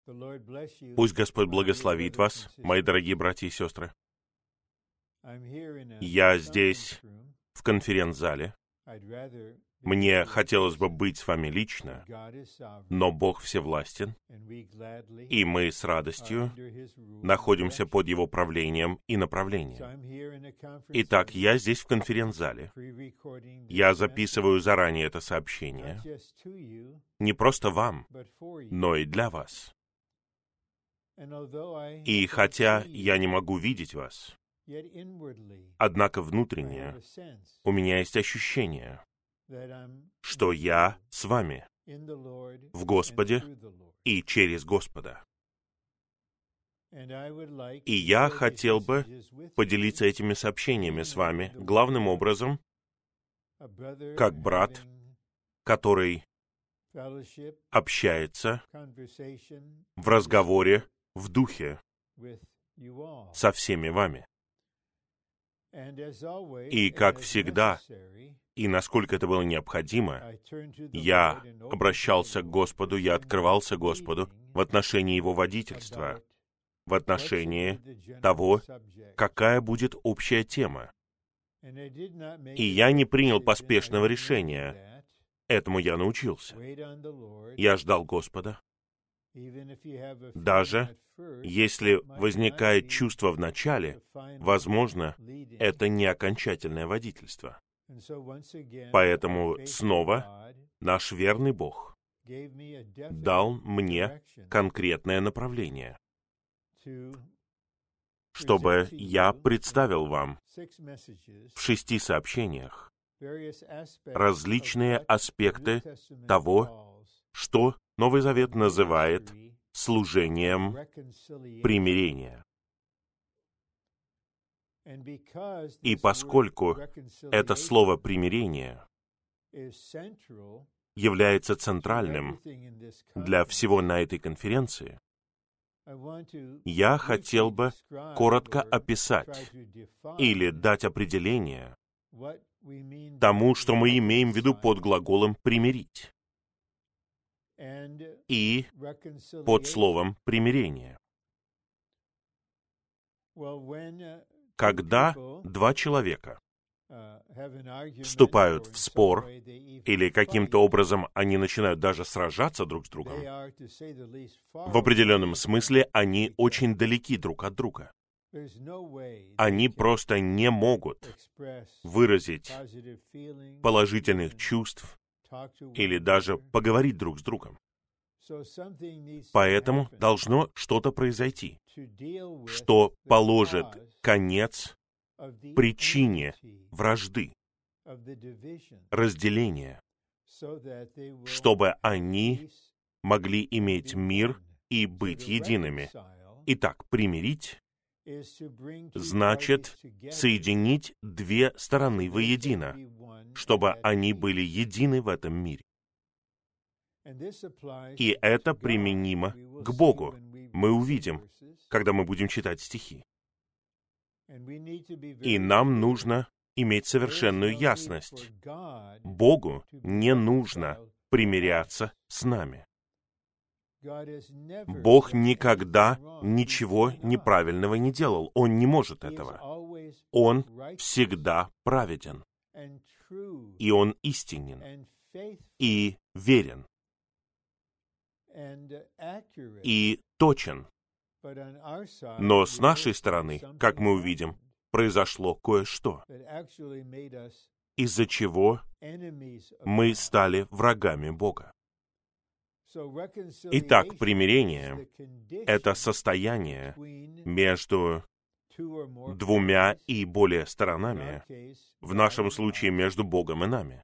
Пусть Господь благословит вас, мои дорогие братья и сестры. Я здесь, в конференц-зале. Мне хотелось бы быть с вами лично, но Бог всевластен, и мы с радостью находимся под Его правлением и направлением. Итак, я здесь в конференц-зале. Я записываю заранее это сообщение, не просто вам, но и для вас. И хотя я не могу видеть вас, однако внутренне у меня есть ощущение, что я с вами в Господе и через Господа. И я хотел бы поделиться этими сообщениями с вами, главным образом, как брат, который общается в разговоре в духе со всеми вами. И, как всегда, и насколько это было необходимо, я обращался к Господу, я открывался Господу в отношении Его водительства, в отношении того, какая будет общая тема. И я не принял поспешного решения. Этому я научился. Я ждал Господа. Даже если возникает чувство в начале, возможно, это не окончательное водительство. Поэтому снова наш верный Бог дал мне конкретное направление, чтобы я представил вам в 6 сообщениях различные аспекты того, что Новый Завет называет служением примирения. И поскольку это слово «примирение» является центральным для всего на этой конференции, я хотел бы коротко описать или дать определение тому, что мы имеем в виду под глаголом «примирить» и под словом «примирение». Когда 2 человека вступают в спор, или каким-то образом они начинают даже сражаться друг с другом, в определенном смысле они очень далеки друг от друга. Они просто не могут выразить положительных чувств или даже поговорить друг с другом. Поэтому должно что-то произойти, что положит конец причине вражды, разделения, чтобы они могли иметь мир и быть едиными. Итак, примирить значит соединить 2 стороны воедино, чтобы они были едины в этом мире. И это применимо к Богу. Мы увидим, когда мы будем читать стихи. И нам нужно иметь совершенную ясность. Богу не нужно примиряться с нами. Бог никогда ничего неправильного не делал. Он не может этого. Он всегда праведен. И Он истинен. И верен. И точен. Но с нашей стороны, как мы увидим, произошло кое-что, из-за чего мы стали врагами Бога. Итак, примирение — это состояние между 2 и более сторонами, в нашем случае между Богом и нами.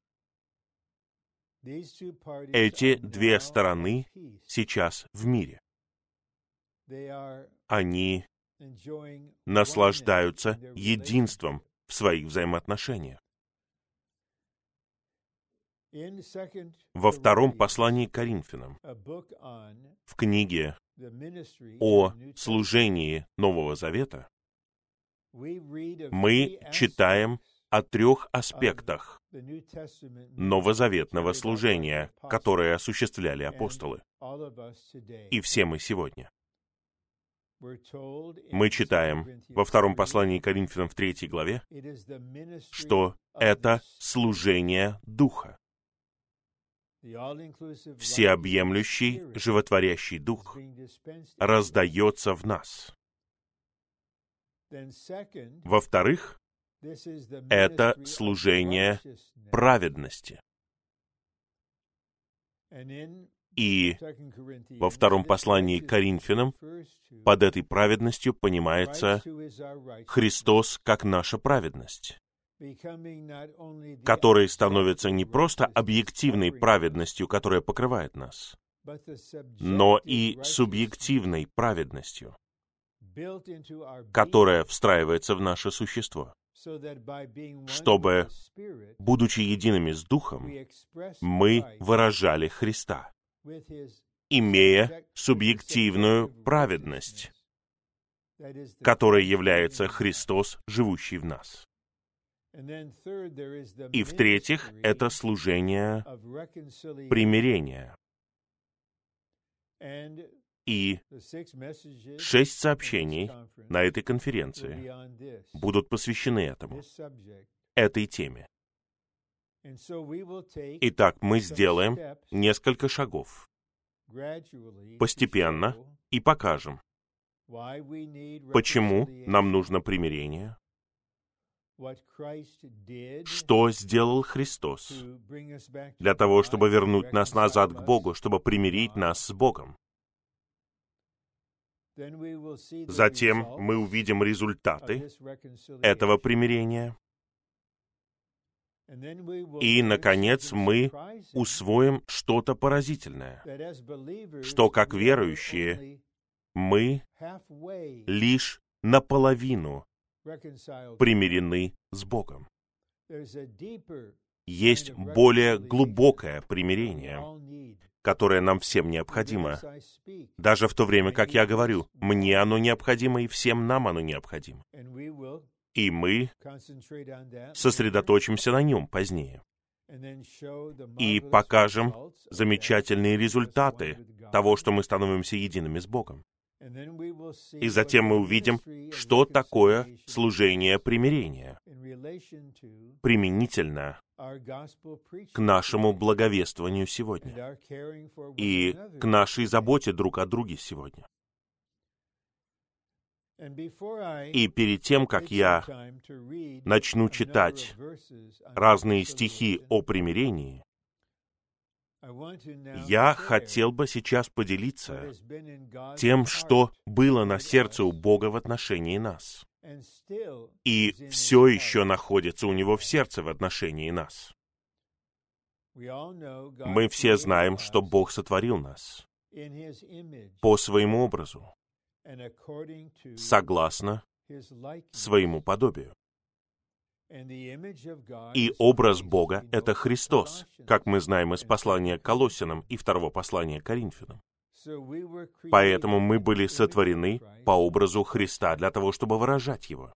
Эти 2 стороны сейчас в мире. Они наслаждаются единством в своих взаимоотношениях. Во 2 послании к Коринфянам, в книге о служении Нового Завета, мы читаем о 3 аспектах новозаветного служения, которое осуществляли апостолы. И все мы сегодня. Мы читаем во 2 послании Коринфянам в 3 главе, что это служение Духа. Всеобъемлющий, животворящий Дух раздается в нас. Во-вторых, это служение праведности. И во 2 послании к Коринфянам под этой праведностью понимается Христос как наша праведность, который становится не просто объективной праведностью, которая покрывает нас, но и субъективной праведностью, которая встраивается в наше существо, чтобы, будучи едиными с Духом, мы выражали Христа, имея субъективную праведность, которая является Христос, живущий в нас. И в-третьих, это служение примирения. И 6 сообщений на этой конференции будут посвящены этой теме. Итак, мы сделаем несколько шагов постепенно и покажем, почему нам нужно примирение, что сделал Христос для того, чтобы вернуть нас назад к Богу, чтобы примирить нас с Богом. Затем мы увидим результаты этого примирения. И, наконец, мы усвоим что-то поразительное, что, как верующие, мы лишь наполовину примирены с Богом. Есть более глубокое примирение, которое нам всем необходимо. Даже в то время, как я говорю, мне оно необходимо, и всем нам оно необходимо. И мы сосредоточимся на нем позднее. И покажем замечательные результаты того, что мы становимся едиными с Богом. И затем мы увидим, что такое служение примирения применительно к нашему благовествованию сегодня и к нашей заботе друг о друге сегодня. И перед тем, как я начну читать разные стихи о примирении, я хотел бы сейчас поделиться тем, что было на сердце у Бога в отношении нас, и все еще находится у Него в сердце в отношении нас. Мы все знаем, что Бог сотворил нас по своему образу, согласно своему подобию. И образ Бога — это Христос, как мы знаем из послания к Колоссянам и 2 послания к Коринфянам. Поэтому мы были сотворены по образу Христа для того, чтобы выражать Его.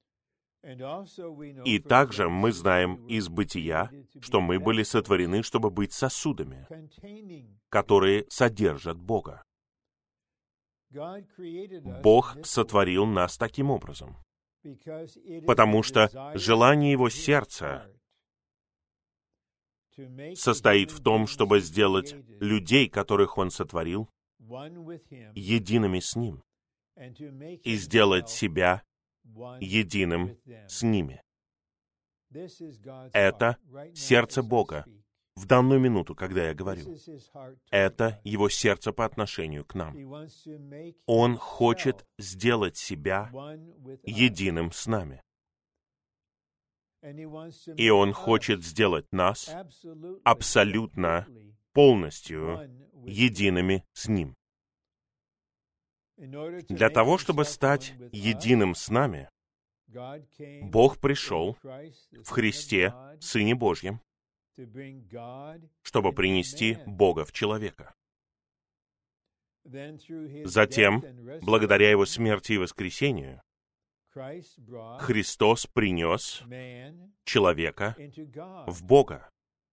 И также мы знаем из Бытия, что мы были сотворены, чтобы быть сосудами, которые содержат Бога. Бог сотворил нас таким образом, потому что желание Его сердца состоит в том, чтобы сделать людей, которых Он сотворил, едиными с Ним, и сделать себя единым с ними. Это сердце Бога в данную минуту, когда я говорю. Это Его сердце по отношению к нам. Он хочет сделать себя единым с нами. И Он хочет сделать нас абсолютно, полностью едиными с Ним. Для того, чтобы стать единым с нами, Бог пришел в Христе, Сыне Божьем, чтобы принести Бога в человека. Затем, благодаря Его смерти и воскресению, Христос принес человека в Бога.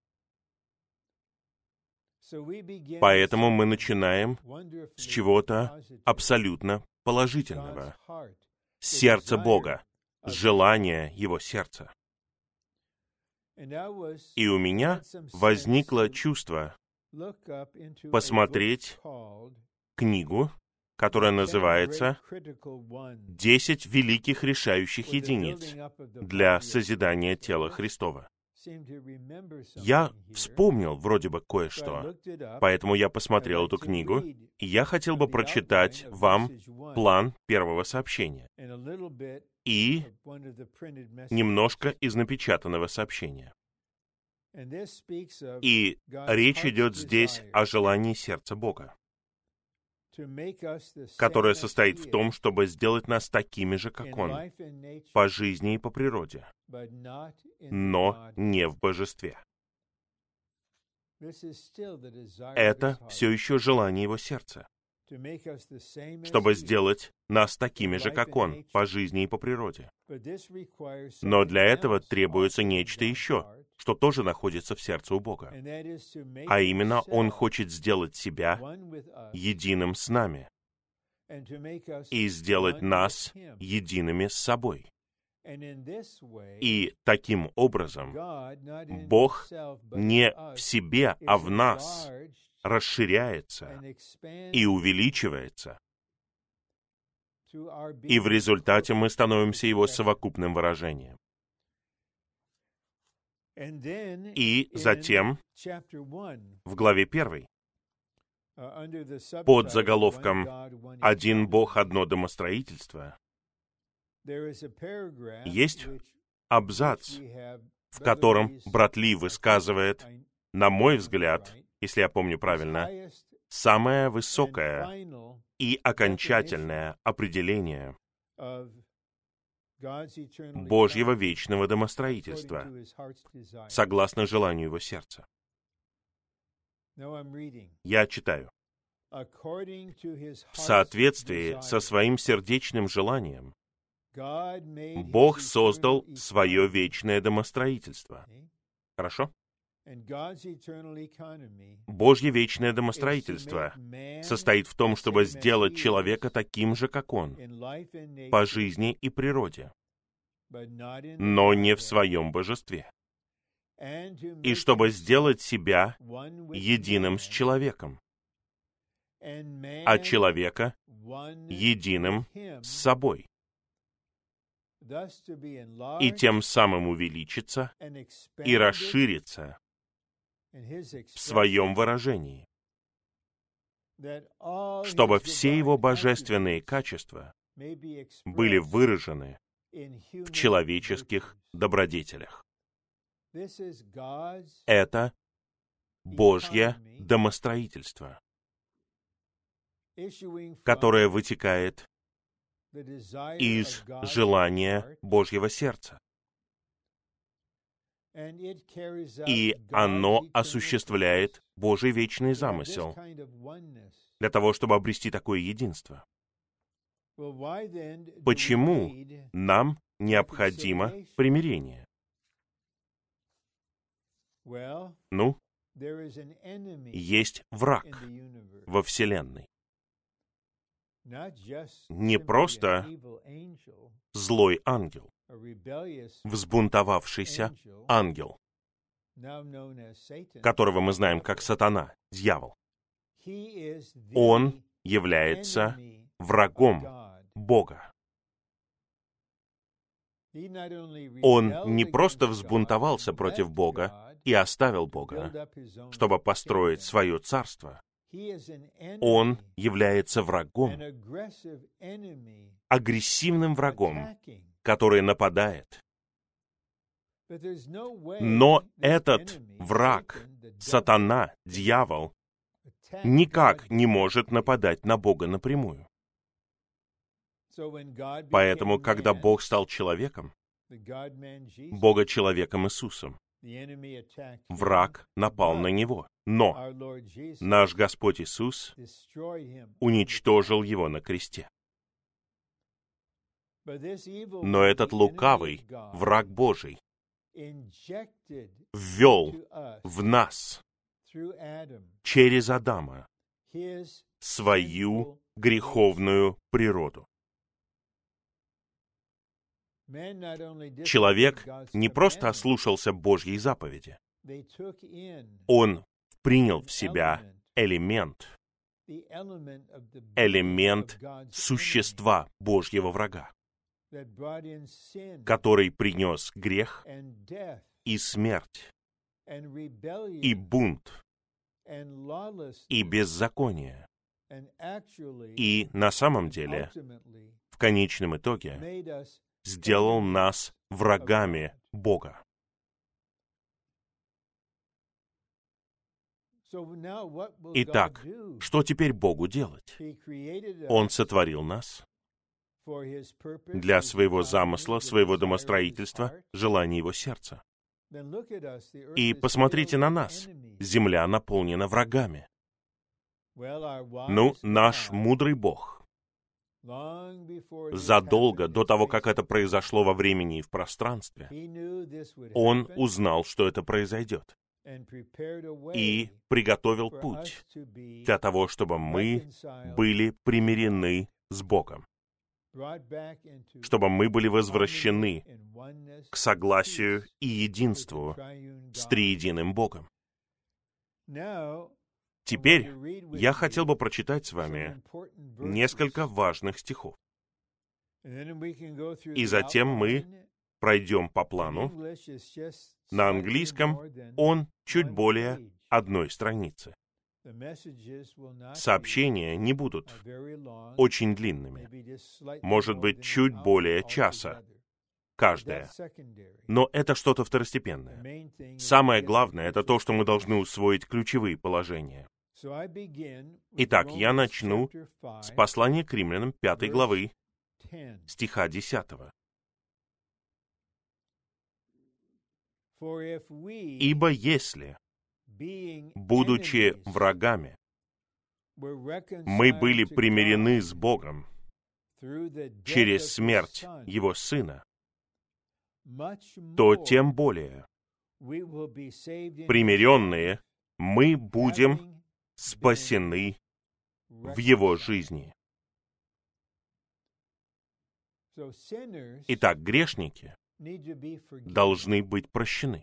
Поэтому мы начинаем с чего-то абсолютно положительного. Сердце Бога, желание Его сердца. И у меня возникло чувство посмотреть книгу, которая называется «10 великих решающих единиц для созидания тела Христова». Я вспомнил вроде бы кое-что, поэтому я посмотрел эту книгу, и я хотел бы прочитать вам план первого сообщения и немножко из напечатанного сообщения. И речь идет здесь о желании сердца Бога, которое состоит в том, чтобы сделать нас такими же, как Он, по жизни и по природе, но не в божестве. Это все еще желание Его сердца, чтобы сделать нас такими же, как Он, по жизни и по природе. Но для этого требуется нечто еще, что тоже находится в сердце у Бога. А именно, Он хочет сделать себя единым с нами и сделать нас едиными с собой. И таким образом Бог не в себе, а в нас расширяется и увеличивается. И в результате мы становимся Его совокупным выражением. И затем в главе 1, под заголовком «Один Бог, одно домостроительство», есть абзац, в котором брат Ли высказывает, на мой взгляд, если я помню правильно, самое высокое и окончательное определение Божьего вечного домостроительства, согласно желанию Его сердца. Я читаю. В соответствии со своим сердечным желанием Бог создал свое вечное домостроительство. Хорошо? Божье вечное домостроительство состоит в том, чтобы сделать человека таким же, как Он, по жизни и природе, но не в своем божестве, и чтобы сделать себя единым с человеком, а человека единым с собой, и тем самым увеличиться и расшириться в своем выражении, чтобы все Его божественные качества были выражены в человеческих добродетелях. Это Божье домостроительство, которое вытекает из желания Божьего сердца. И оно осуществляет Божий вечный замысел для того, чтобы обрести такое единство. Почему нам необходимо примирение? Ну, есть враг во Вселенной. Не просто злой ангел, взбунтовавшийся ангел, которого мы знаем как сатана, дьявол. Он является врагом Бога. Он не просто взбунтовался против Бога и оставил Бога, чтобы построить свое царство. Он является врагом, агрессивным врагом, который нападает. Но этот враг, сатана, дьявол, никак не может нападать на Бога напрямую. Поэтому, когда Бог стал человеком, Бога-человеком Иисусом, враг напал на Него. Но наш Господь Иисус уничтожил его на кресте. Но этот лукавый, враг Божий, ввел в нас через Адама свою греховную природу. Человек не просто ослушался Божьей заповеди. Он принял в себя элемент существа Божьего врага, который принес грех и смерть, и бунт, и беззаконие. И на самом деле, в конечном итоге, сделал нас врагами Бога. Итак, что теперь Богу делать? Он сотворил нас для своего замысла, своего домостроительства, желания Его сердца. И посмотрите на нас. Земля наполнена врагами. Наш мудрый Бог задолго до того, как это произошло во времени и в пространстве, Он узнал, что это произойдет, и приготовил путь для того, чтобы мы были примирены с Богом, чтобы мы были возвращены к согласию и единству с триединым Богом. Теперь я хотел бы прочитать с вами несколько важных стихов. И затем мы пройдем по плану. На английском он чуть более одной страницы. Сообщения не будут очень длинными. Может быть, чуть более часа каждое. Но это что-то второстепенное. Самое главное — это то, что мы должны усвоить ключевые положения. Итак, я начну с послания к Римлянам 5 главы, стиха 10. «Ибо если, будучи врагами, мы были примирены с Богом через смерть Его Сына, то тем более, примиренные, мы будем спасены в Его жизни». Итак, грешники должны быть прощены.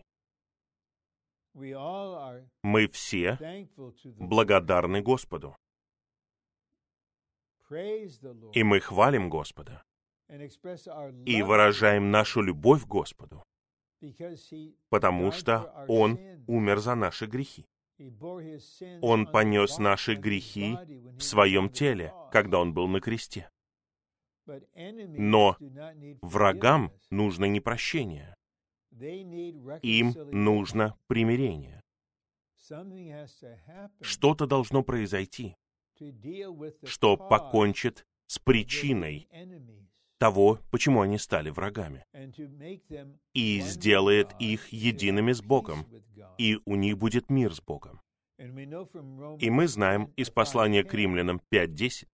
Мы все благодарны Господу. И мы хвалим Господа и выражаем нашу любовь к Господу, потому что Он умер за наши грехи. Он понес наши грехи в Своем теле, когда Он был на кресте. Но врагам нужно не прощение. Им нужно примирение. Что-то должно произойти, что покончит с причиной того, почему они стали врагами, и сделает их едиными с Богом, и у них будет мир с Богом. И мы знаем из послания к Римлянам 5:10,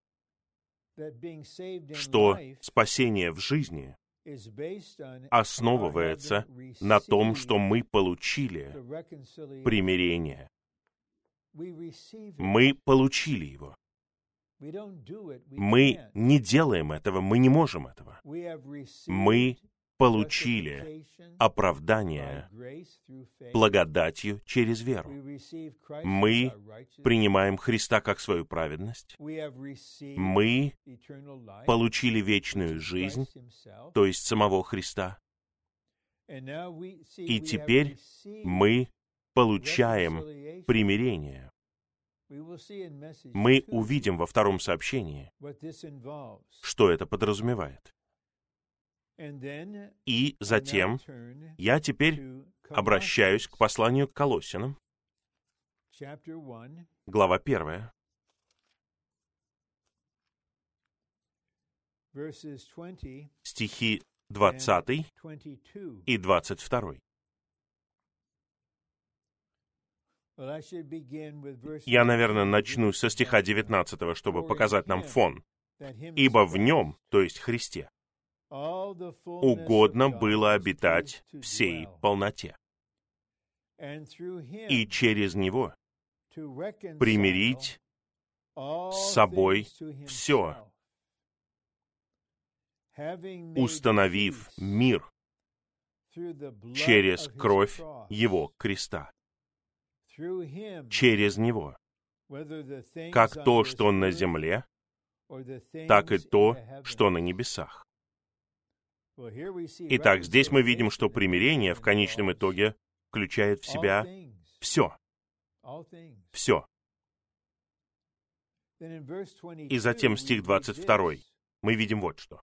что спасение в жизни основывается на том, что мы получили примирение. Мы получили его. Мы не делаем этого, мы не можем этого. Мы получили оправдание благодатью через веру. Мы принимаем Христа как свою праведность. Мы получили вечную жизнь, то есть самого Христа. И теперь мы получаем примирение. Мы увидим во втором сообщении, что это подразумевает. И затем я теперь обращаюсь к посланию к Колоссянам, глава 1, стихи 20 и 22. Я, наверное, начну со стиха 19, чтобы показать нам фон. «Ибо в Нем, то есть Христе, угодно было обитать всей полноте, и через Него примирить с собой все, установив мир через кровь Его креста. Через Него. Как то, что на земле, так и то, что на небесах. Итак, здесь мы видим, что примирение в конечном итоге включает в себя все. Все. И затем стих 22. Мы видим вот что.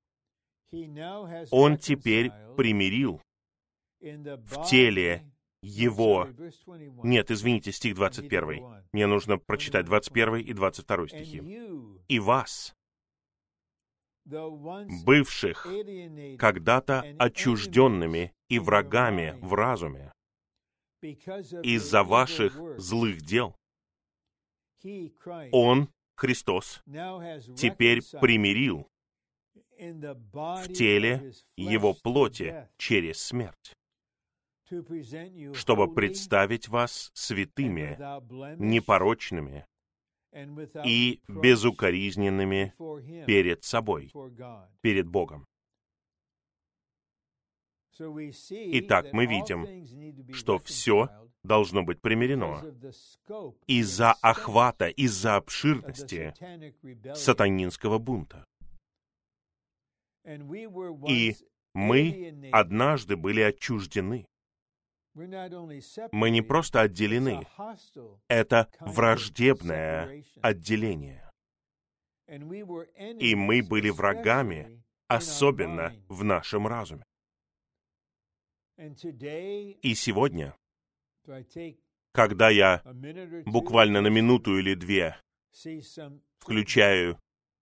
Он теперь примирил в теле Его... Нет, извините, стих 21. Мне нужно прочитать 21 и 22 стихи. «И вас, бывших когда-то отчужденными и врагами в разуме, из-за ваших злых дел, Он, Христос, теперь примирил в теле Его плоти через смерть, чтобы представить вас святыми, непорочными и безукоризненными перед собой, перед Богом». Итак, мы видим, что все должно быть примирено из-за охвата, из-за обширности сатанинского бунта. И мы однажды были отчуждены. Мы не просто отделены, это враждебное отделение. И мы были врагами, особенно в нашем разуме. И сегодня, когда я буквально на минуту или две включаю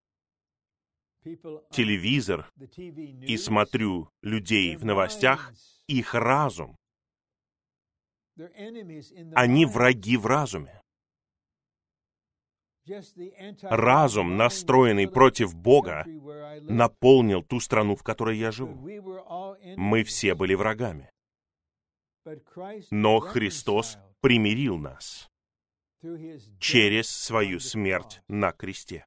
телевизор и смотрю людей в новостях, их разум, они враги в разуме. Разум, настроенный против Бога, наполнил ту страну, в которой я живу. Мы все были врагами. Но Христос примирил нас через свою смерть на кресте.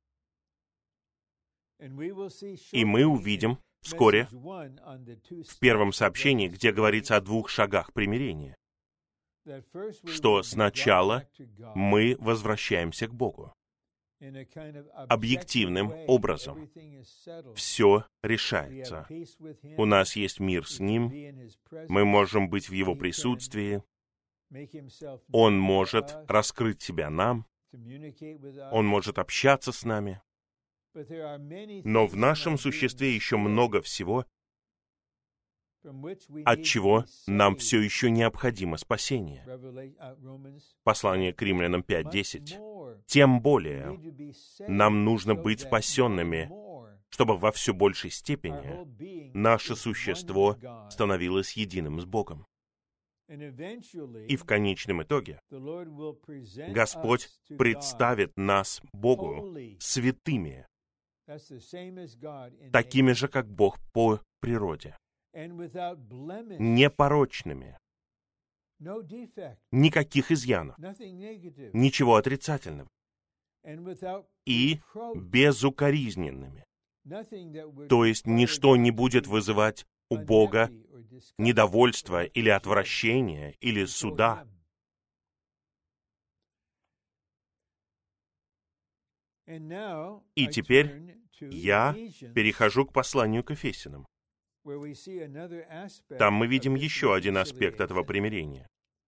И мы увидим вскоре в первом сообщении, где говорится о 2 шагах примирения, что сначала мы возвращаемся к Богу. Объективным образом все решается. У нас есть мир с Ним, мы можем быть в Его присутствии, Он может раскрыть себя нам, Он может общаться с нами. Но в нашем существе еще много всего, от чего нам все еще необходимо спасение. Послание к Римлянам 5:10. Тем более нам нужно быть спасенными, чтобы во все большей степени наше существо становилось единым с Богом. И в конечном итоге Господь представит нас Богу святыми, такими же, как Бог по природе, непорочными, никаких изъянов, ничего отрицательного, и безукоризненными. То есть ничто не будет вызывать у Бога недовольства или отвращения или суда. И теперь я перехожу к посланию к Ефесянам. Там мы видим еще один аспект этого примирения.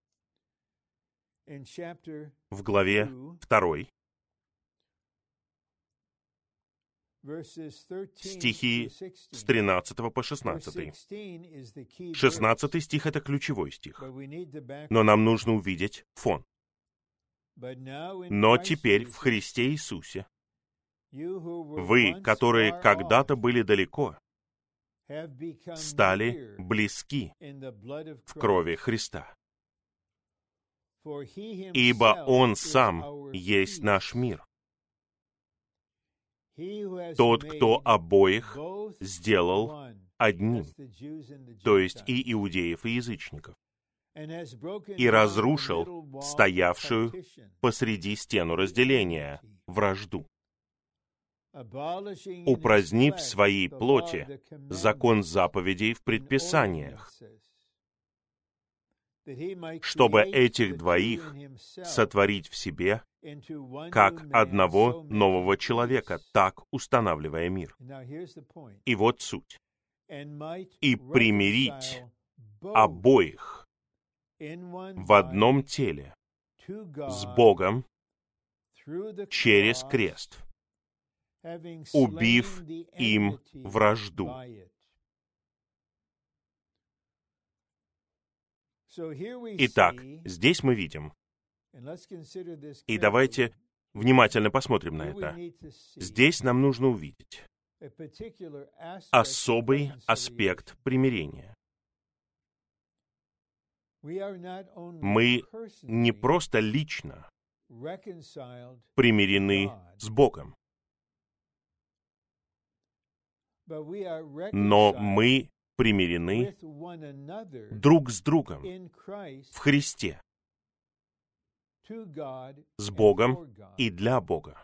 В главе 2, стихи с 13 по 16. 16 стих — это ключевой стих. Но нам нужно увидеть фон. «Но теперь в Христе Иисусе вы, которые когда-то были далеко, стали близки в крови Христа. Ибо Он сам есть наш мир. Тот, кто обоих сделал одним, то есть и иудеев, и язычников, и разрушил стоявшую посреди стену разделения, вражду, упразднив в своей плоти закон заповедей в предписаниях, чтобы этих двоих сотворить в себе как одного нового человека, так устанавливая мир. И вот суть. И примирить обоих в одном теле с Богом через крест, убив им вражду. Итак, здесь мы видим, и давайте внимательно посмотрим на это. Здесь нам нужно увидеть особый аспект примирения. Мы не просто лично примирены с Богом, но мы примирены друг с другом в Христе, с Богом и для Бога.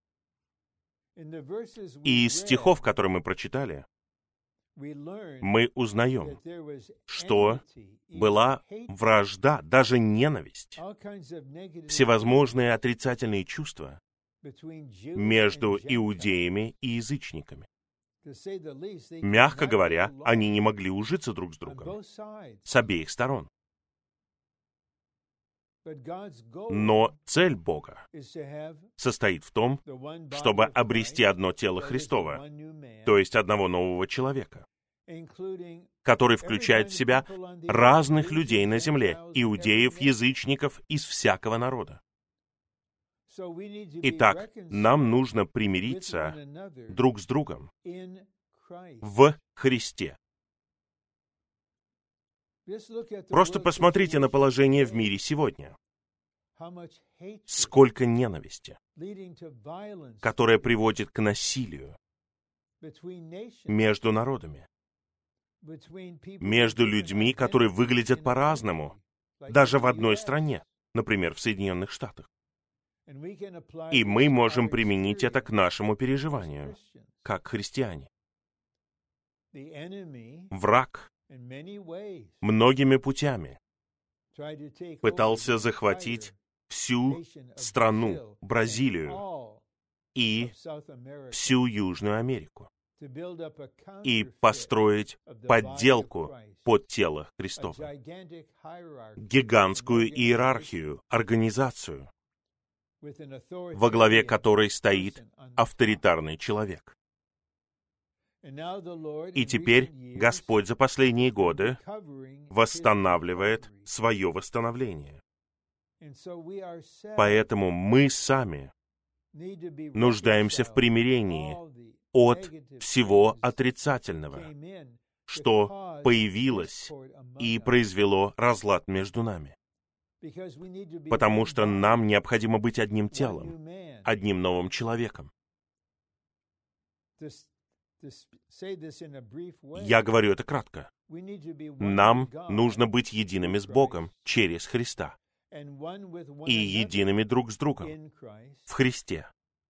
И из стихов, которые мы прочитали, мы узнаем, что была вражда, даже ненависть, всевозможные отрицательные чувства между иудеями и язычниками. Мягко говоря, они не могли ужиться друг с другом с обеих сторон. Но цель Бога состоит в том, чтобы обрести одно тело Христово, то есть одного нового человека, который включает в себя разных людей на земле, иудеев, язычников, из всякого народа. Итак, нам нужно примириться друг с другом в Христе. Просто посмотрите на положение в мире сегодня. Сколько ненависти, которая приводит к насилию между народами, между людьми, которые выглядят по-разному, даже в одной стране, например, в Соединенных Штатах. И мы можем применить это к нашему переживанию, как христиане. Враг многими путями пытался захватить всю страну, Бразилию и всю Южную Америку, и построить подделку под тело Христово, гигантскую иерархию, организацию, во главе которой стоит авторитарный человек. И теперь Господь за последние годы восстанавливает свое восстановление. Поэтому мы сами нуждаемся в примирении от всего отрицательного, что появилось и произвело разлад между нами. Потому что нам необходимо быть одним телом, одним новым человеком. Я говорю это кратко. Нам нужно быть едиными с Богом через Христа и едиными друг с другом в Христе,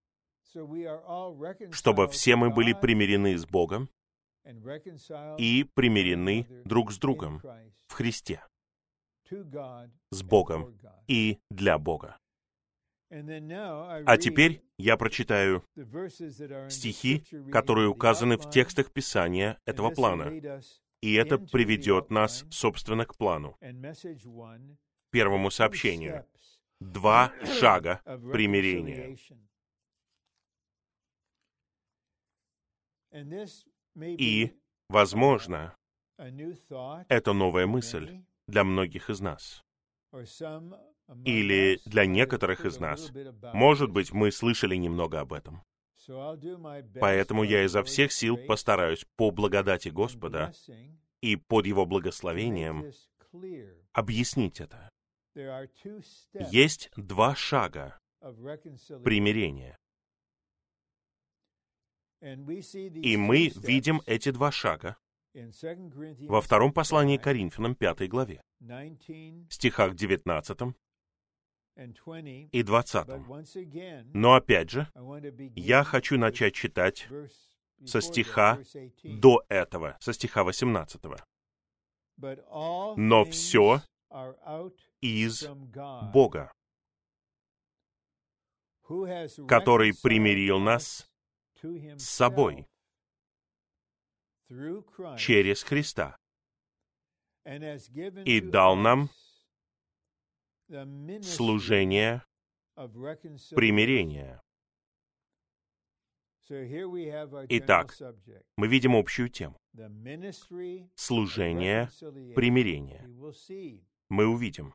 чтобы все мы были примирены с Богом и примирены друг с другом в Христе, с Богом и для Бога. А теперь я прочитаю стихи, которые указаны в текстах Писания этого плана. И это приведет нас, собственно, к плану, первому сообщению. 2 шага примирения. И, возможно, это новая мысль для многих из нас. Или для некоторых из нас. Может быть, мы слышали немного об этом. Поэтому я изо всех сил постараюсь по благодати Господа и под Его благословением объяснить это. Есть 2 шага примирения. И мы видим эти два шага во втором послании к Коринфянам, 5 главе, стихах 19 и 20. Но опять же, я хочу начать читать со стиха до этого, со стиха 18. «Но все из Бога, который примирил нас с собой через Христа и дал нам служение примирения». Итак, мы видим общую тему. Служение примирения. Мы увидим,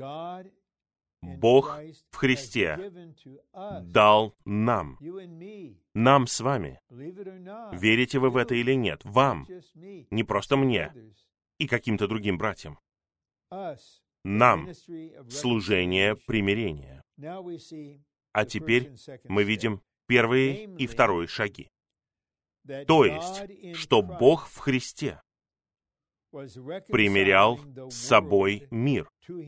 Бог в Христе дал нам с вами, верите вы в это или нет, вам, не просто мне и каким-то другим братьям, нам служение примирения. А теперь мы видим первые и вторые шаги. То есть, что Бог в Христе примирял с собой мир,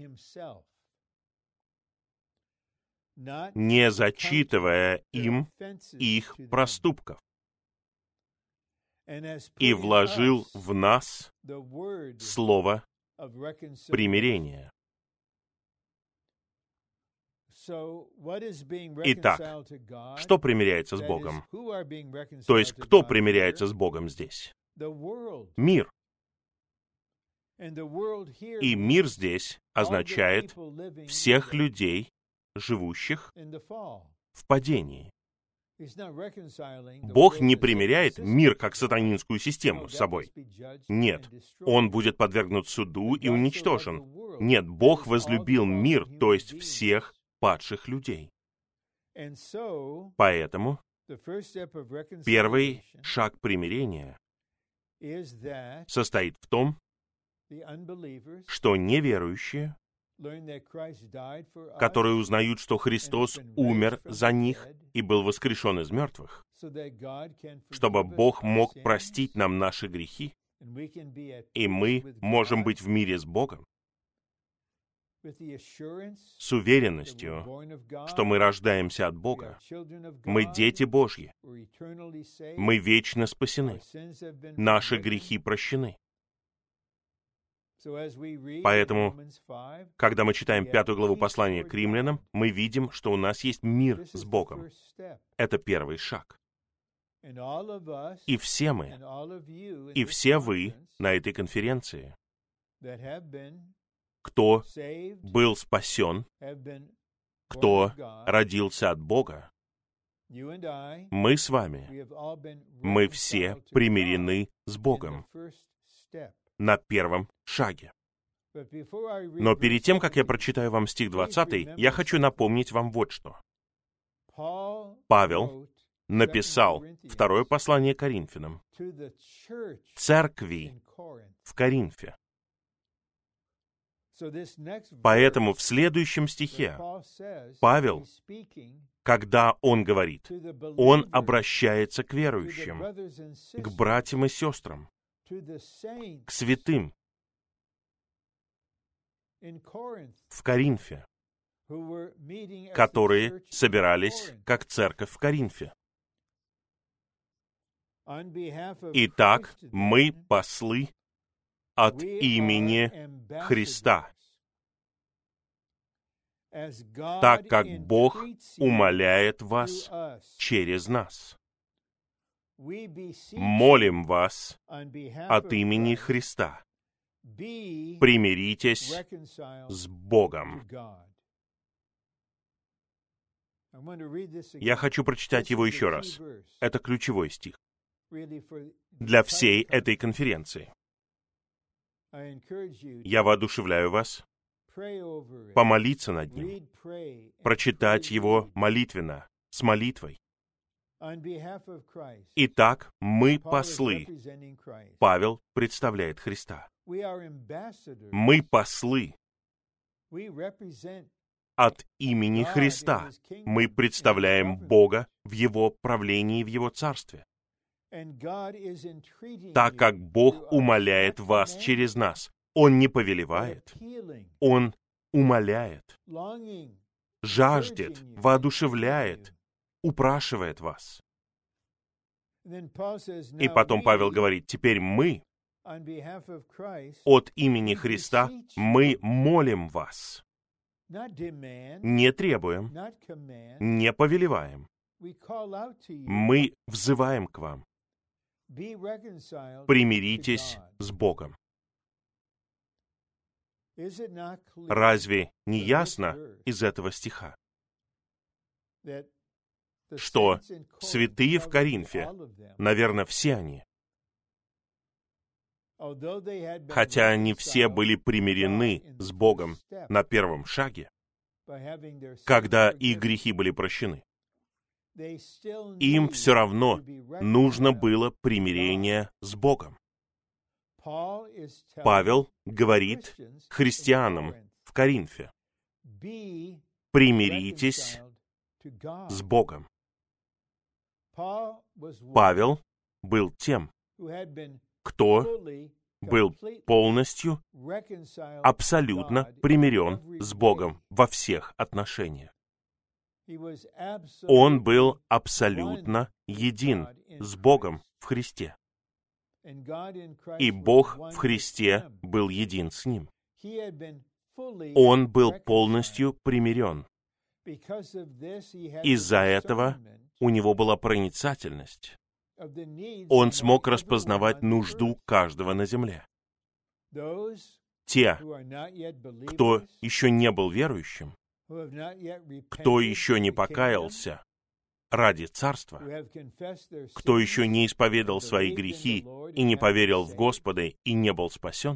не зачитывая им их проступков, и вложил в нас слово примирения. Итак, что примиряется с Богом? То есть, кто примиряется с Богом здесь? Мир. И мир здесь означает всех людей, живущих в падении. Бог не примиряет мир как сатанинскую систему с собой. Нет, он будет подвергнут суду и уничтожен. Нет, Бог возлюбил мир, то есть всех падших людей. Поэтому первый шаг примирения состоит в том, что неверующие, которые узнают, что Христос умер за них и был воскрешен из мертвых, чтобы Бог мог простить нам наши грехи, и мы можем быть в мире с Богом, с уверенностью, что мы рождаемся от Бога, мы дети Божьи, мы вечно спасены, наши грехи прощены. Поэтому, когда мы читаем 5 главу послания к римлянам, мы видим, что у нас есть мир с Богом. Это первый шаг. И все мы, и все вы на этой конференции, кто был спасен, кто родился от Бога, мы с вами, мы все примирены с Богом на первом шаге. Но перед тем, как я прочитаю вам стих 20, я хочу напомнить вам вот что. Павел написал второе послание Коринфянам, церкви в Коринфе. Поэтому в следующем стихе Павел, когда он говорит, он обращается к верующим, к братьям и сестрам, к святым в Коринфе, которые собирались как церковь в Коринфе. Итак, мы послы от имени Христа, так как Бог умоляет вас через нас. Молим вас от имени Христа. Примиритесь с Богом. Я хочу прочитать его еще раз. Это ключевой стих для всей этой конференции. Я воодушевляю вас помолиться над ним, прочитать его молитвенно, с молитвой. Итак, мы послы. Павел представляет Христа. Мы послы от имени Христа. Мы представляем Бога в Его правлении, в Его царстве. так как Бог умоляет вас через нас. Он не повелевает, Он умоляет, жаждет, воодушевляет, упрашивает вас. И потом Павел говорит, теперь мы, от имени Христа, мы молим вас. Не требуем, не повелеваем. Мы взываем к вам. Примиритесь с Богом. Разве не ясно из этого стиха, что святые в Коринфе, наверное, все они, хотя они все были примирены с Богом на первом шаге, когда их грехи были прощены, им все равно нужно было примирение с Богом. Павел говорит христианам в Коринфе, примиритесь с Богом. Павел был тем, кто был полностью, абсолютно примирен с Богом во всех отношениях. Он был абсолютно един с Богом в Христе. И Бог в Христе был един с ним. Он был полностью примирен. Из-за этого у него была проницательность. Он смог распознавать нужду каждого на земле. Те, кто еще не был верующим, кто еще не покаялся ради Царства, кто еще не исповедал свои грехи и не поверил в Господа и не был спасен,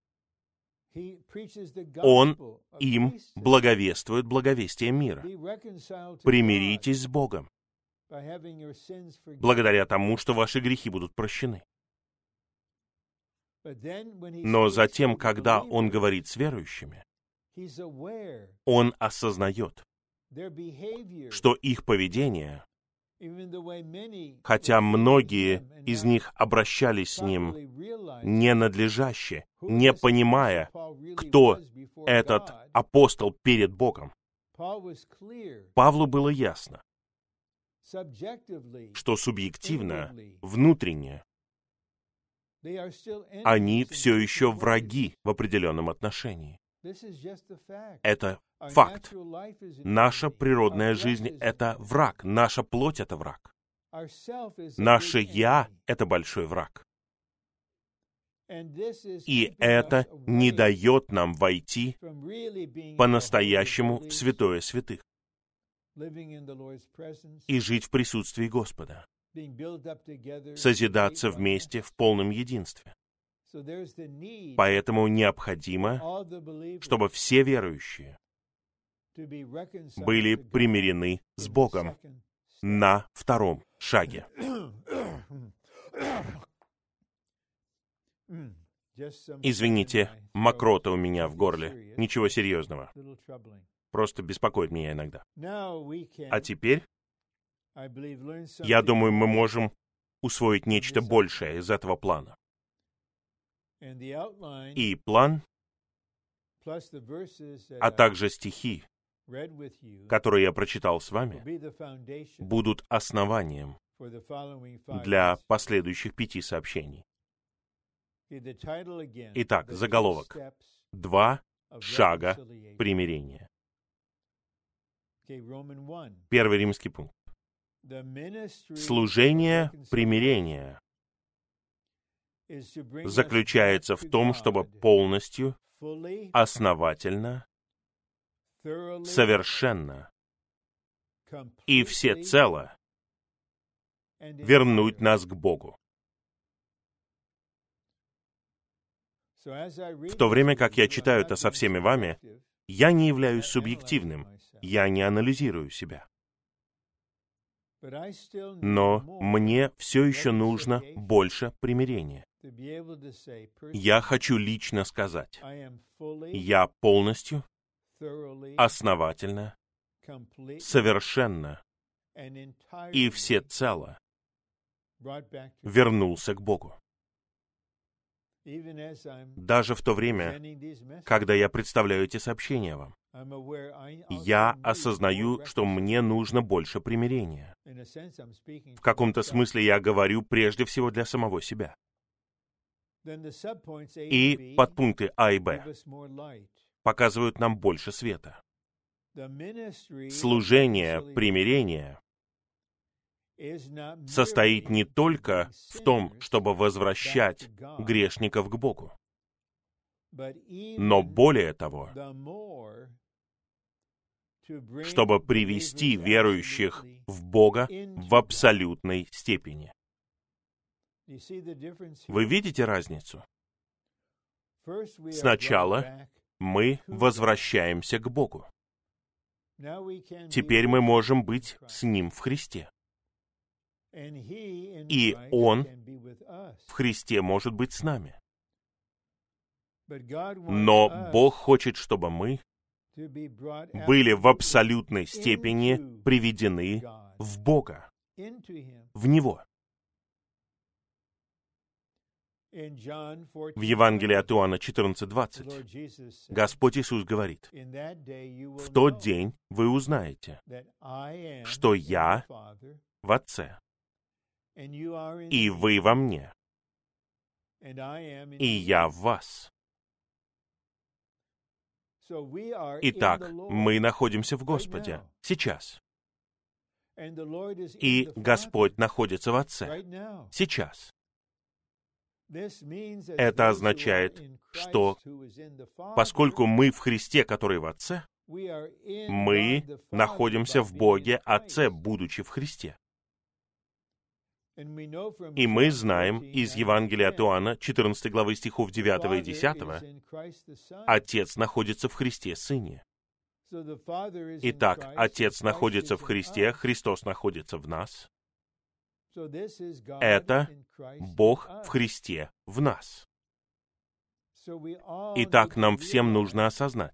он им благовествует благовестие мира. Примиритесь с Богом, благодаря тому, что ваши грехи будут прощены. Но затем, когда он говорит с верующими, он осознает, что их поведение, хотя многие из них обращались с ним ненадлежаще, не понимая, кто этот апостол перед Богом, Павлу было ясно, что субъективно, внутренне, они все еще враги в определенном отношении. Это факт. Наша природная жизнь — это враг. Наша плоть — это враг. Наше «я» — это большой враг. И это не дает нам войти по-настоящему в святое святых и жить в присутствии Господа, созидаться вместе в полном единстве. Поэтому необходимо, чтобы все верующие были примирены с Богом на втором шаге. Извините, мокрота у меня в горле. Ничего серьезного. Просто беспокоит меня иногда. А теперь, я думаю, мы можем усвоить нечто большее из этого плана. И план, а также стихи, которые я прочитал с вами, будут основанием для последующих 5 сообщений. Итак, заголовок. 2 шага примирения. Первый римский пункт. Служение примирения заключается в том, чтобы полностью, основательно, совершенно и всецело вернуть нас к Богу. В то время как я читаю это со всеми вами, я не являюсь субъективным, я не анализирую себя. Но мне все еще нужно больше примирения. Я хочу лично сказать, я полностью, основательно, совершенно и всецело вернулся к Богу. Даже в то время, когда я представляю эти сообщения вам, я осознаю, что мне нужно больше примирения. В каком-то смысле я говорю прежде всего для самого себя. И подпункты А и Б показывают нам больше света. Служение примирения состоит не только в том, чтобы возвращать грешников к Богу, но более того, чтобы привести верующих в Бога в абсолютной степени. Вы видите разницу? Сначала мы возвращаемся к Богу. Теперь мы можем быть с Ним в Христе. И Он в Христе может быть с нами. Но Бог хочет, чтобы мы были в абсолютной степени приведены в Бога, в Него. В Евангелии от Иоанна 14:20 Господь Иисус говорит: «В тот день вы узнаете, что Я в Отце, и вы во мне, и Я в вас». Итак, мы находимся в Господе сейчас. И Господь находится в Отце сейчас. Это означает, что поскольку мы в Христе, который в Отце, мы находимся в Боге Отце, будучи в Христе. И мы знаем из Евангелия от Иоанна, 14 главы стихов 9 и 10, Отец находится в Христе Сыне. Итак, Отец находится в Христе, Христос находится в нас. Это Бог в Христе в нас. Итак, нам всем нужно осознать: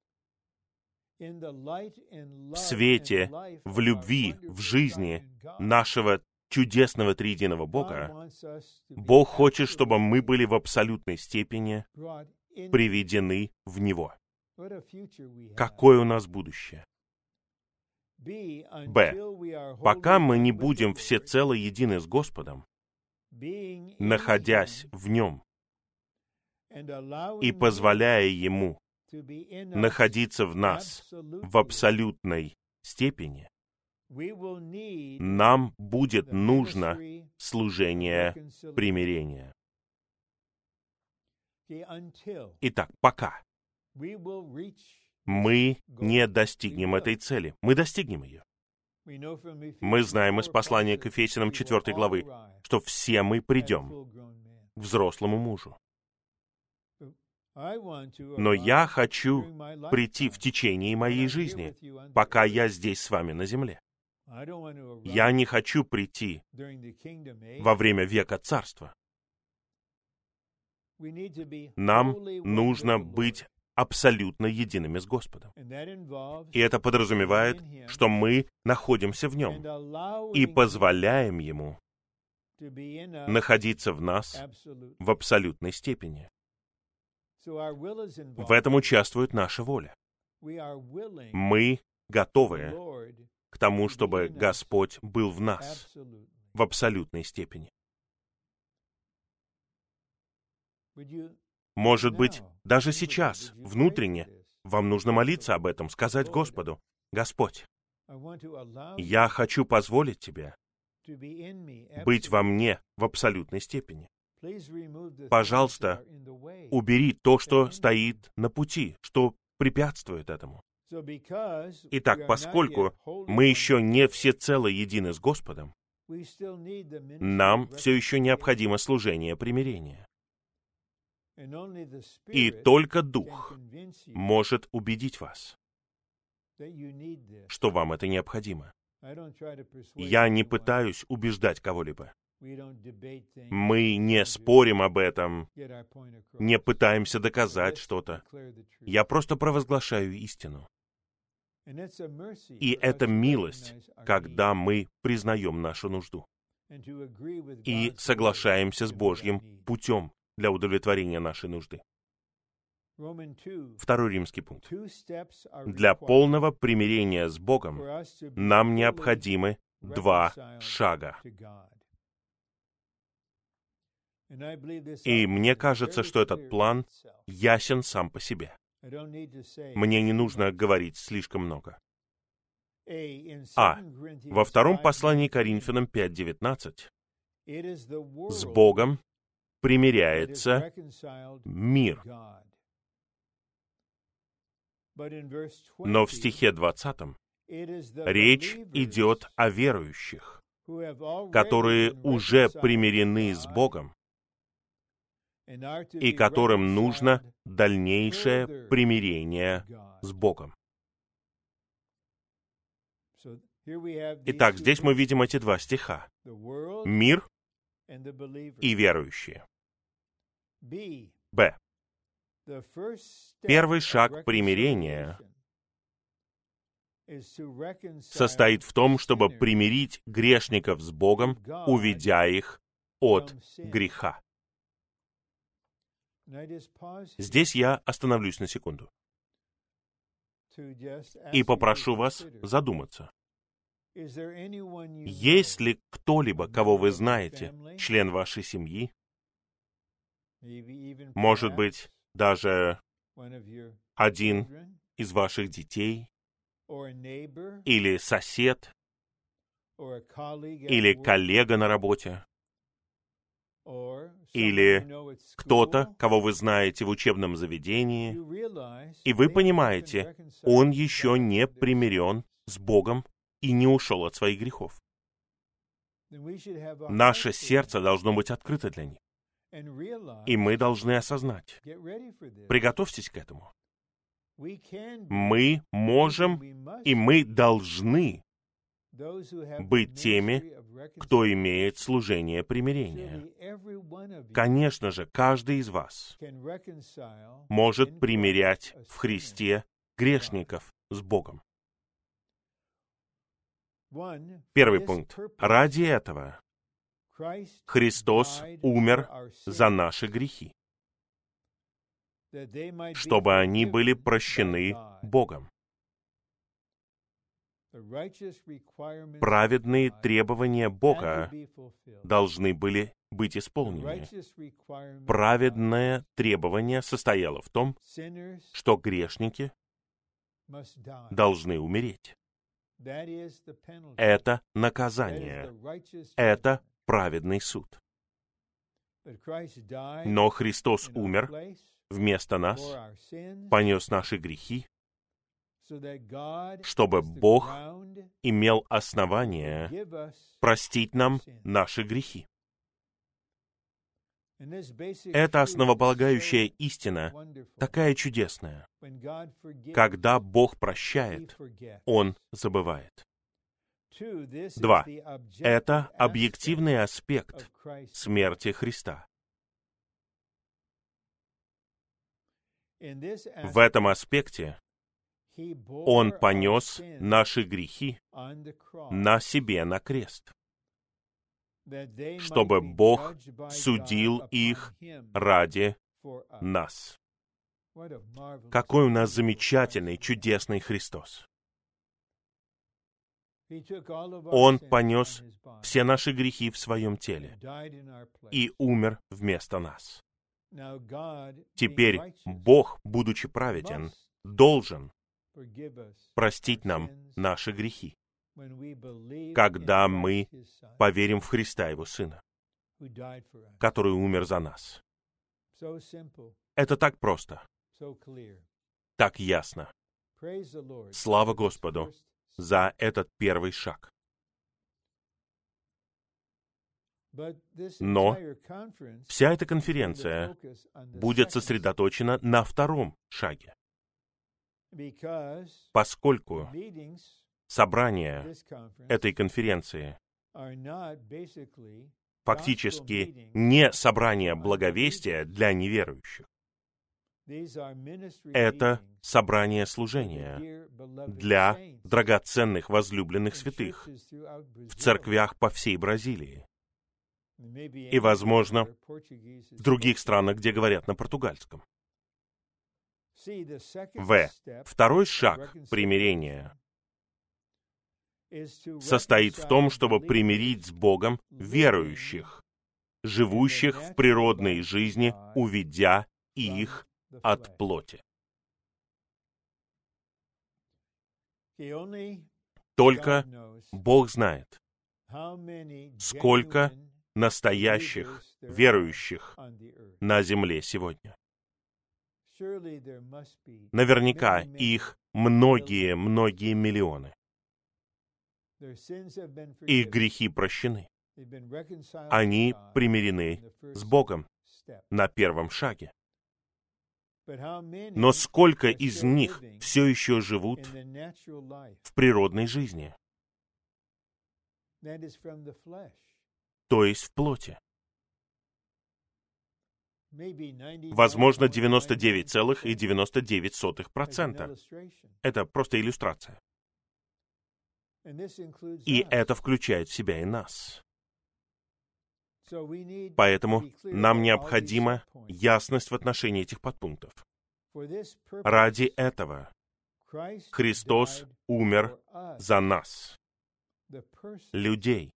в свете, в любви, в жизни нашего чудесного триединого Бога, Бог хочет, чтобы мы были в абсолютной степени приведены в Него. Какое у нас будущее? Б. Пока мы не будем всецело едины с Господом, находясь в Нем и позволяя Ему находиться в нас в абсолютной степени, нам будет нужно служение примирения. Итак, пока мы не достигнем этой цели, мы достигнем ее. Мы знаем из послания к Ефесянам 4 главы, что все мы придем к взрослому мужу. Но я хочу прийти в течение моей жизни, пока я здесь с вами на земле. Я не хочу прийти во время века царства. Нам нужно быть абсолютно едиными с Господом. И это подразумевает, что мы находимся в Нем и позволяем Ему находиться в нас в абсолютной степени. В этом участвует наша воля. Мы готовы к тому, чтобы Господь был в нас в абсолютной степени. Может быть, даже сейчас, внутренне, вам нужно молиться об этом, сказать Господу: «Господь, я хочу позволить Тебе быть во мне в абсолютной степени. Пожалуйста, убери то, что стоит на пути, что препятствует этому». Итак, поскольку мы еще не всецело едины с Господом, нам все еще необходимо служение примирения. И только Дух может убедить вас, что вам это необходимо. Я не пытаюсь убеждать кого-либо. Мы не спорим об этом, не пытаемся доказать что-то. Я просто провозглашаю истину. И это милость, когда мы признаем нашу нужду. и соглашаемся с Божьим путем для удовлетворения нашей нужды. Второй римский пункт. Для полного примирения с Богом нам необходимы 2 шага. И мне кажется, что этот план ясен сам по себе. Мне не нужно говорить слишком много. Во втором послании Коринфянам 5:19 с Богом примиряется мир. Но в стихе 20 речь идет о верующих, которые уже примирены с Богом и которым нужно дальнейшее примирение с Богом. Итак, здесь мы видим эти 2 стиха. Мир и верующие. Б. Первый шаг примирения состоит в том, чтобы примирить грешников с Богом, уведя их от греха. Здесь я остановлюсь на секунду и попрошу вас задуматься. Есть ли кто-либо, кого вы знаете, член вашей семьи, может быть, даже один из ваших детей, или сосед, или коллега на работе, или кто-то, кого вы знаете в учебном заведении, и вы понимаете, он еще не примирен с Богом и не ушел от своих грехов. Наше сердце должно быть открыто для них. И мы должны осознать. Приготовьтесь к этому. Мы можем и мы должны быть теми, кто имеет служение примирения. Конечно же, каждый из вас может примирять в Христе грешников с Богом. Первый пункт. Ради этого Христос умер за наши грехи, чтобы они были прощены Богом. Праведные требования Бога должны были быть исполнены. Праведное требование состояло в том, что грешники должны умереть. Это наказание. Это праведный суд. Но Христос умер вместо нас, понес наши грехи, чтобы Бог имел основание простить нам наши грехи. Эта основополагающая истина такая чудесная. Когда Бог прощает, Он забывает. 2. Это объективный аспект смерти Христа. В этом аспекте Он понес наши грехи на себе на крест, чтобы Бог судил их ради нас. Какой у нас замечательный, чудесный Христос! Он понес все наши грехи в своем теле и умер вместо нас. Теперь Бог, будучи праведен, должен простить нам наши грехи, когда мы поверим в Христа, Его Сына, который умер за нас. Это так просто, так ясно. Слава Господу за этот первый шаг. Но вся эта конференция будет сосредоточена на втором шаге, поскольку собрания этой конференции фактически не собрание благовестия для неверующих. Это собрание служения для драгоценных возлюбленных святых в церквях по всей Бразилии. и, возможно, в других странах, где говорят на португальском. Второй шаг примирения состоит в том, чтобы примирить с Богом верующих, живущих в природной жизни, уведя их от плоти. Только Бог знает, сколько настоящих верующих на земле сегодня. Наверняка их многие миллионы. Их грехи прощены. Они примирены с Богом на первом шаге. Но сколько из них все еще живут в природной жизни, то есть в плоти? Возможно, 99,99%. Это просто иллюстрация. И это включает в себя и нас. Поэтому нам необходима ясность в отношении этих подпунктов. Ради этого Христос умер за нас, людей,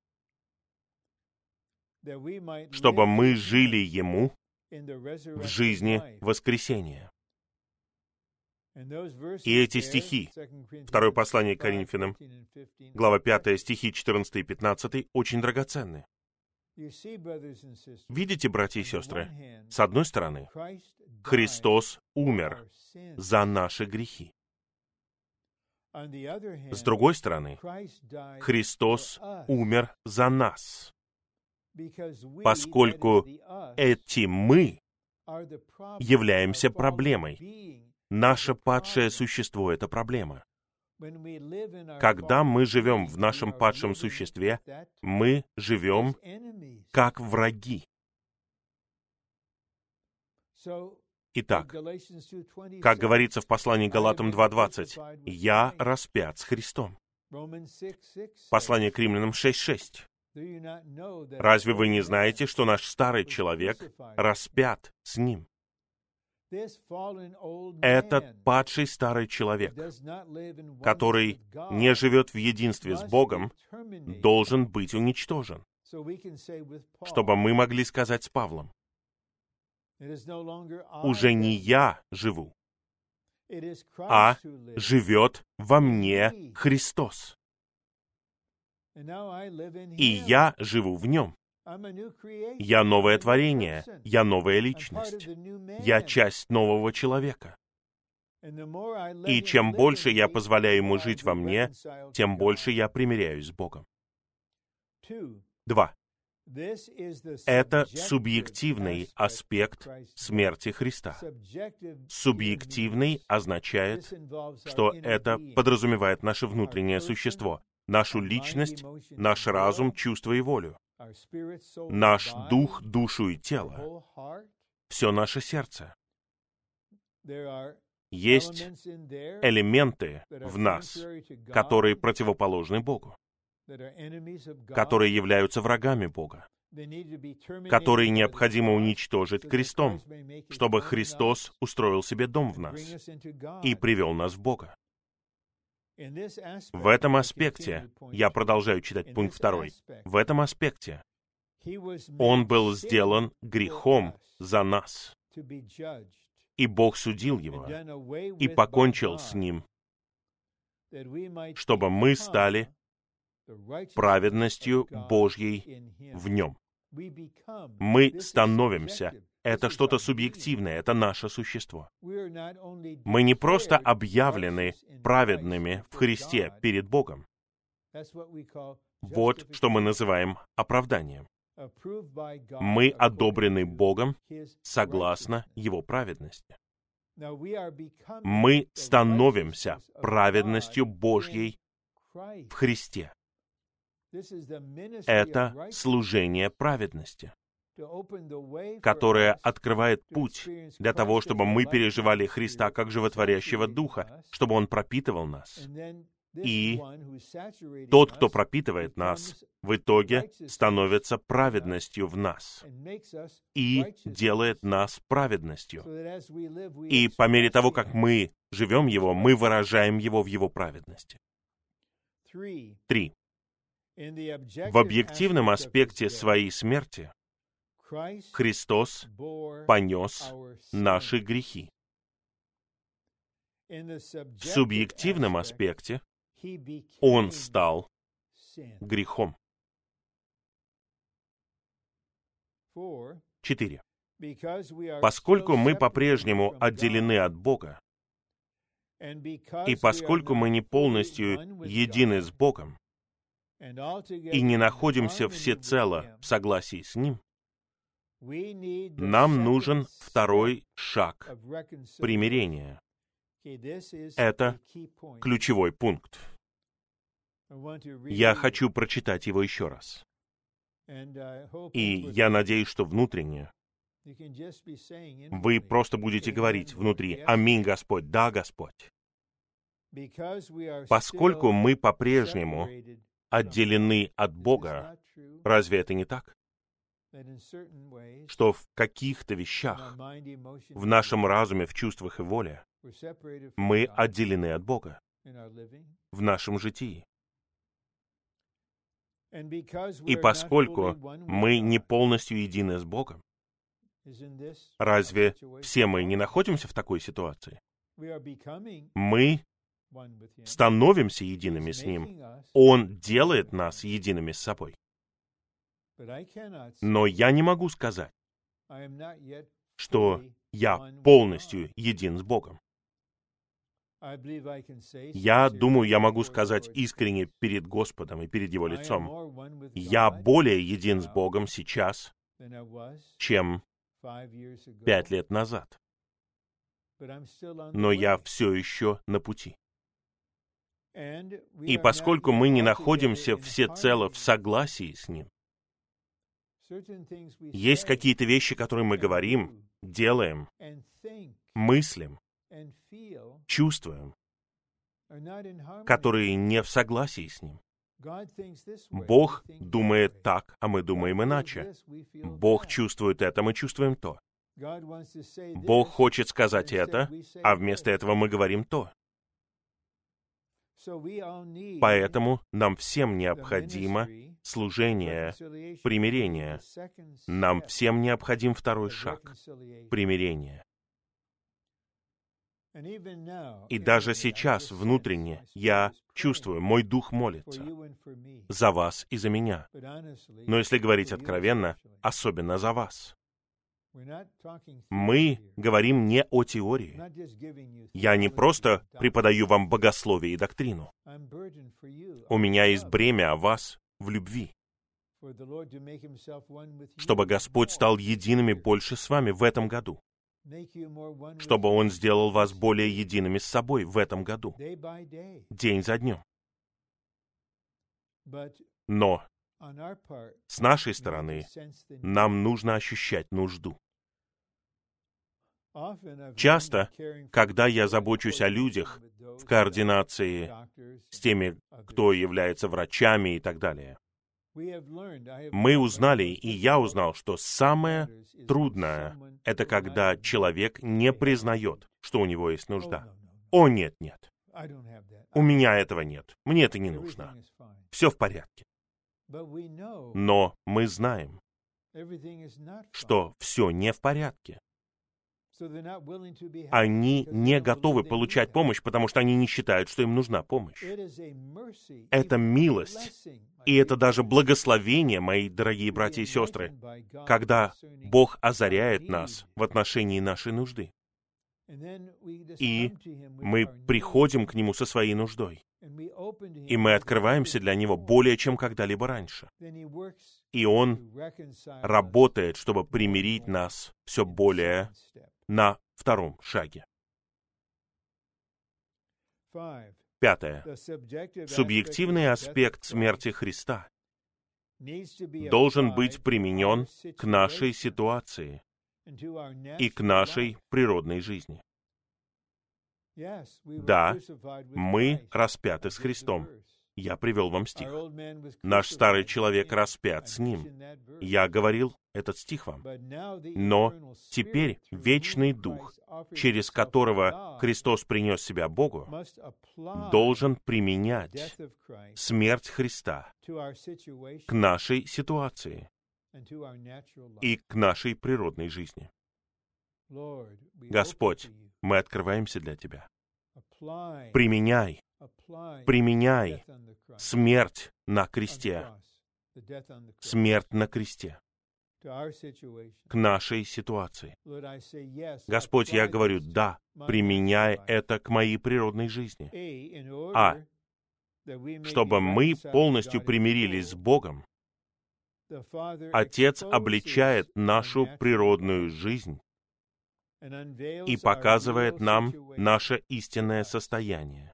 чтобы мы жили Ему в жизни воскресения. И эти стихи, второе послание к Коринфянам, глава 5, стихи 14 и 15, очень драгоценны. Видите, братья и сестры, с одной стороны, Христос умер за наши грехи. С другой стороны, Христос умер за нас, поскольку эти «мы» являемся проблемой. Наше падшее существо — это проблема. Когда мы живем в нашем падшем существе, мы живем как враги. Итак, как говорится в послании Галатам 2:20, «Я распят с Христом». Послание к Римлянам 6:6. Разве вы не знаете, что наш старый человек распят с Ним? Этот падший старый человек, который не живет в единстве с Богом, должен быть уничтожен, чтобы мы могли сказать с Павлом: «Уже не я живу, а живет во мне Христос. И я живу в Нем. Я новое творение, я новая личность, я часть нового человека. И чем больше я позволяю Ему жить во мне, тем больше я примиряюсь с Богом». 2. Это субъективный аспект смерти Христа. Субъективный означает, что это подразумевает наше внутреннее существо, нашу личность, наш разум, чувство и волю, наш дух, душу и тело, все наше сердце. Есть элементы в нас, которые противоположны Богу, которые являются врагами Бога, которые необходимо уничтожить крестом, чтобы Христос устроил себе дом в нас и привел нас в Бога. В этом аспекте, я продолжаю читать пункт 2, в этом аспекте Он был сделан грехом за нас, и Бог судил Его и покончил с Ним, чтобы мы стали праведностью Божьей в Нем. Мы становимся. Это что-то субъективное, это наше существо. Мы не просто объявлены праведными в Христе перед Богом. Вот что мы называем оправданием. Мы одобрены Богом согласно Его праведности. Мы становимся праведностью Божьей в Христе. Это служение праведности, которое открывает путь для того, чтобы мы переживали Христа как животворящего Духа, чтобы Он пропитывал нас. И тот, кто пропитывает нас, в итоге становится праведностью в нас и делает нас праведностью. И по мере того, как мы живем Его, мы выражаем Его в Его праведности. 3. В объективном аспекте своей смерти Христос понес наши грехи. В субъективном аспекте Он стал грехом. 4. Поскольку мы по-прежнему отделены от Бога, и поскольку мы не полностью едины с Богом и не находимся всецело в согласии с Ним, нам нужен второй шаг примирения. Это ключевой пункт. Я хочу прочитать его еще раз. И я надеюсь, что внутренне вы просто будете говорить внутри: «Аминь, Господь, да, Господь». Поскольку мы по-прежнему отделены от Бога, разве это не так? Что в каких-то вещах, в нашем разуме, в чувствах и воле, мы отделены от Бога в нашем житии. И поскольку мы не полностью едины с Богом, разве все мы не находимся в такой ситуации? Мы становимся едиными с Ним. Он делает нас едиными с собой. Но я не могу сказать, что я полностью един с Богом. Я думаю, я могу сказать искренне перед Господом и перед Его лицом: я более един с Богом сейчас, чем 5 лет назад. Но я все еще на пути. И поскольку мы не находимся всецело в согласии с Ним, есть какие-то вещи, которые мы говорим, делаем, мыслим, чувствуем, которые не в согласии с Ним. Бог думает так, а мы думаем иначе. Бог чувствует это, мы чувствуем то. Бог хочет сказать это, а вместо этого мы говорим то. Поэтому нам всем необходимо служение примирения. Нам всем необходим второй шаг — примирение. И даже сейчас, внутренне, я чувствую, мой дух молится за вас и за меня. Но если говорить откровенно, особенно за вас. Мы говорим не о теории. Я не просто преподаю вам богословие и доктрину. У меня есть бремя о вас в любви, чтобы Господь стал едиными больше с вами в этом году, чтобы Он сделал вас более едиными с собой в этом году, день за днем. Но с нашей стороны нам нужно ощущать нужду. Часто, когда я забочусь о людях в координации с теми, кто является врачами и так далее, мы узнали, и я узнал, что самое трудное — это когда человек не признает, что у него есть нужда. О, нет, нет. У меня этого нет. Мне это не нужно. Все в порядке. Но мы знаем, что все не в порядке. Они не готовы получать помощь, потому что они не считают, что им нужна помощь. Это милость, и это даже благословение, мои дорогие братья и сестры, когда Бог озаряет нас в отношении нашей нужды. И мы приходим к Нему со своей нуждой, и мы открываемся для Него более, чем когда-либо раньше. И Он работает, чтобы примирить нас все более на втором шаге. 5. Субъективный аспект смерти Христа должен быть применен к нашей ситуации и к нашей природной жизни. Да, мы распяты с Христом. Я привел вам стих. Наш старый человек распят с Ним. Я говорил этот стих вам. Но теперь вечный Дух, через которого Христос принес себя Богу, должен применять смерть Христа к нашей ситуации и к нашей природной жизни. Господь, мы открываемся для Тебя. Применяй смерть на кресте, смерть на кресте к нашей ситуации. Господь, я говорю, да, применяй это к моей природной жизни. Чтобы мы полностью примирились с Богом, Отец обличает нашу природную жизнь и показывает нам наше истинное состояние.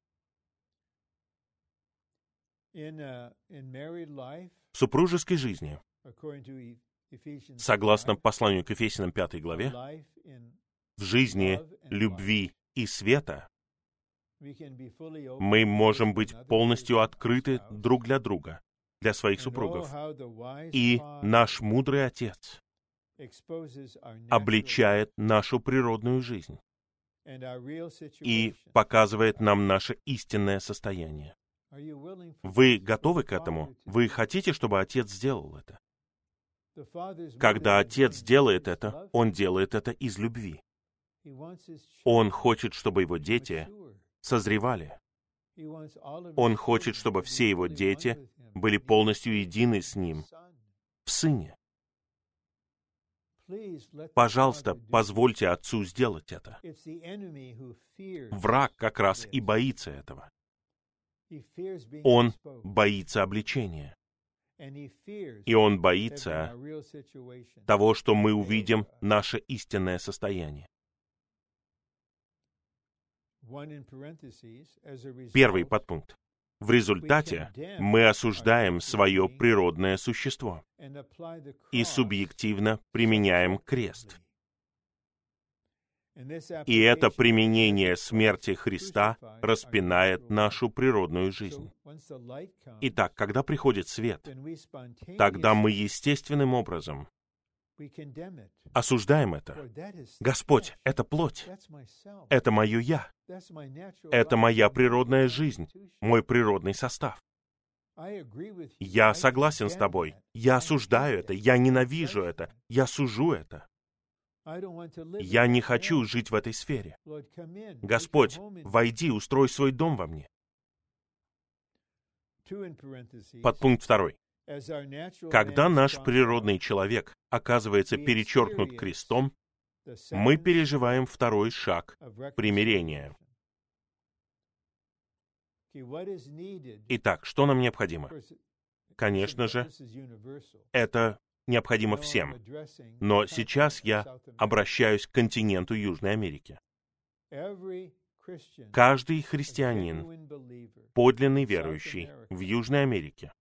В супружеской жизни, согласно посланию к Ефесянам 5 главе, в жизни любви и света мы можем быть полностью открыты друг для друга, для своих супругов. И наш мудрый Отец обличает нашу природную жизнь и показывает нам наше истинное состояние. Вы готовы к этому? Вы хотите, чтобы Отец сделал это? Когда Отец делает это, Он делает это из любви. Он хочет, чтобы Его дети созревали. Он хочет, чтобы все Его дети были полностью едины с Ним в Сыне. Пожалуйста, позвольте Отцу сделать это. Враг как раз и боится этого. Он боится обличения. И он боится того, что мы увидим наше истинное состояние. Первый подпункт. В результате мы осуждаем свое природное существо и субъективно применяем крест. И это применение смерти Христа распинает нашу природную жизнь. Итак, когда приходит свет, тогда мы естественным образом осуждаем это. Господь, это плоть, это мое «я», это моя природная жизнь, мой природный состав. Я согласен с тобой, я осуждаю это, я ненавижу это, я сужу это. Я не хочу жить в этой сфере. Господь, войди, устрой свой дом во мне. Подпункт 2. Когда наш природный человек оказывается перечеркнут крестом, мы переживаем второй шаг примирения. Итак, что нам необходимо? Конечно же, это необходимо всем. Но сейчас я обращаюсь к континенту Южной Америки. Каждый христианин, подлинный верующий в Южной Америке,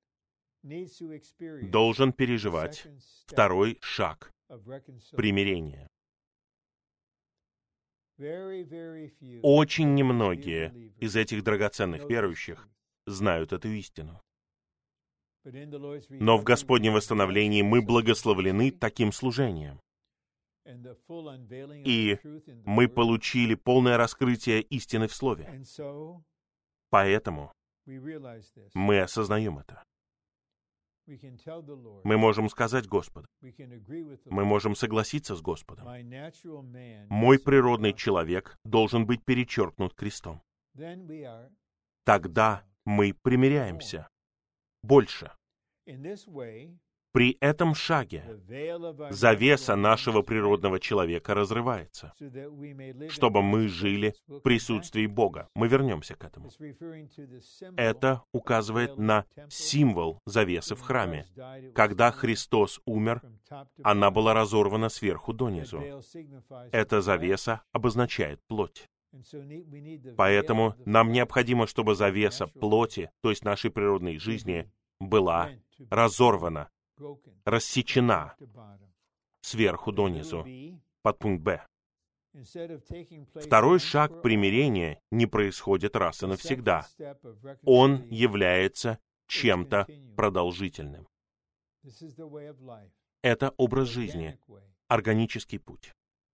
должен переживать второй шаг примирения. Очень немногие из этих драгоценных верующих знают эту истину. Но в Господнем восстановлении мы благословлены таким служением. И мы получили полное раскрытие истины в Слове. Поэтому мы осознаем это. Мы можем сказать Господу, мы можем согласиться с Господом. Мой природный человек должен быть перечеркнут крестом. Тогда мы примиряемся больше. При этом шаге завеса нашего природного человека разрывается, чтобы мы жили в присутствии Бога. Мы вернемся к этому. Это указывает на символ завесы в храме. Когда Христос умер, она была разорвана сверху донизу. Эта завеса обозначает плоть. Поэтому нам необходимо, чтобы завеса плоти, то есть нашей природной жизни, была разорвана, рассечена сверху донизу. Подпункт Б. Второй шаг примирения не происходит раз и навсегда. Он является чем-то продолжительным. Это образ жизни, органический путь,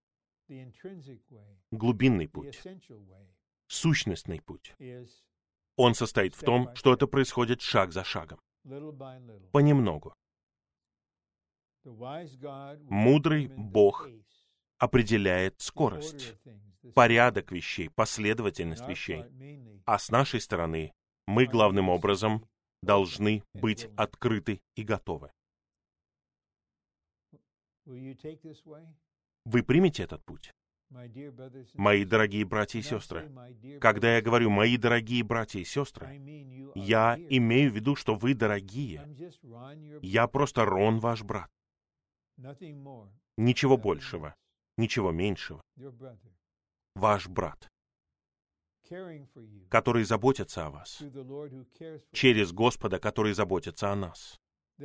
глубинный путь, сущностный путь. Он состоит в том, что это происходит шаг за шагом, понемногу. Мудрый Бог определяет скорость, порядок вещей, последовательность вещей. А с нашей стороны мы главным образом должны быть открыты и готовы. Вы примете этот путь? Мои дорогие братья и сестры, когда я говорю «мои дорогие братья и сестры», я имею в виду, что вы дорогие. Я просто Рон, ваш брат. Ничего большего, ничего меньшего. Ваш брат, который заботится о вас, через Господа, который заботится о нас,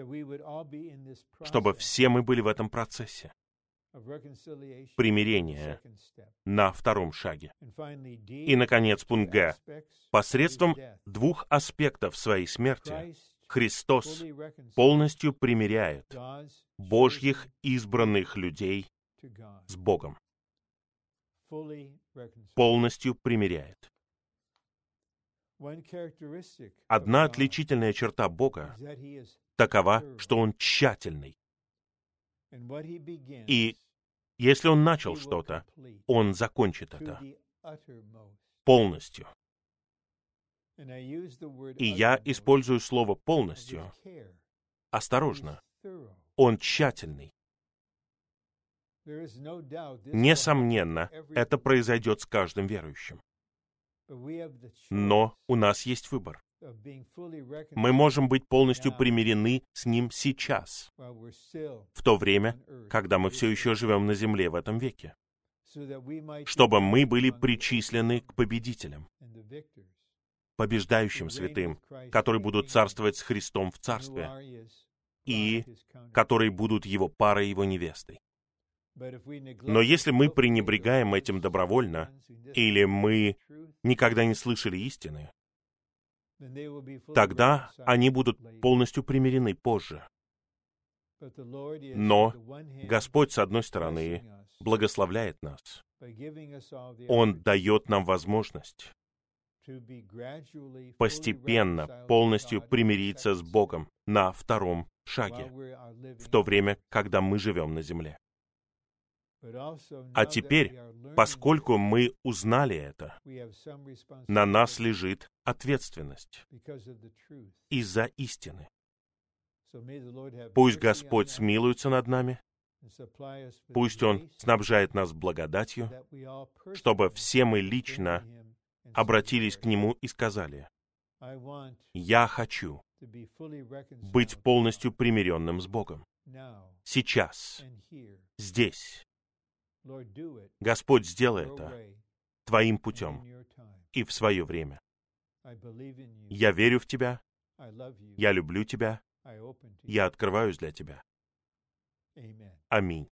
чтобы все мы были в этом процессе примирения на втором шаге. И, наконец, пункт Г. Посредством двух аспектов своей смерти Христос полностью примиряет Божьих избранных людей с Богом. Полностью примиряет. Одна отличительная черта Бога такова, что Он тщательный. И если Он начал что-то, Он закончит это полностью. И я использую слово «полностью» осторожно. Он тщательный. Несомненно, это произойдет с каждым верующим. Но у нас есть выбор. Мы можем быть полностью примирены с Ним сейчас, в то время, когда мы все еще живем на земле в этом веке, чтобы мы были причислены к победителям, побеждающим святым, которые будут царствовать с Христом в царстве, и которые будут Его парой, Его невестой. Но если мы пренебрегаем этим добровольно, или мы никогда не слышали истины, тогда они будут полностью примирены позже. Но Господь, с одной стороны, благословляет нас. Он дает нам возможность постепенно, полностью примириться с Богом на втором шаге, в то время, когда мы живем на земле. А теперь, поскольку мы узнали это, на нас лежит ответственность из-за истины. Пусть Господь смилуется над нами, пусть Он снабжает нас благодатью, чтобы все мы лично обратились к Нему и сказали: «Я хочу быть полностью примиренным с Богом. Сейчас, здесь. Господь, сделай это Твоим путем и в свое время. Я верю в Тебя, я люблю Тебя, я открываюсь для Тебя». Аминь.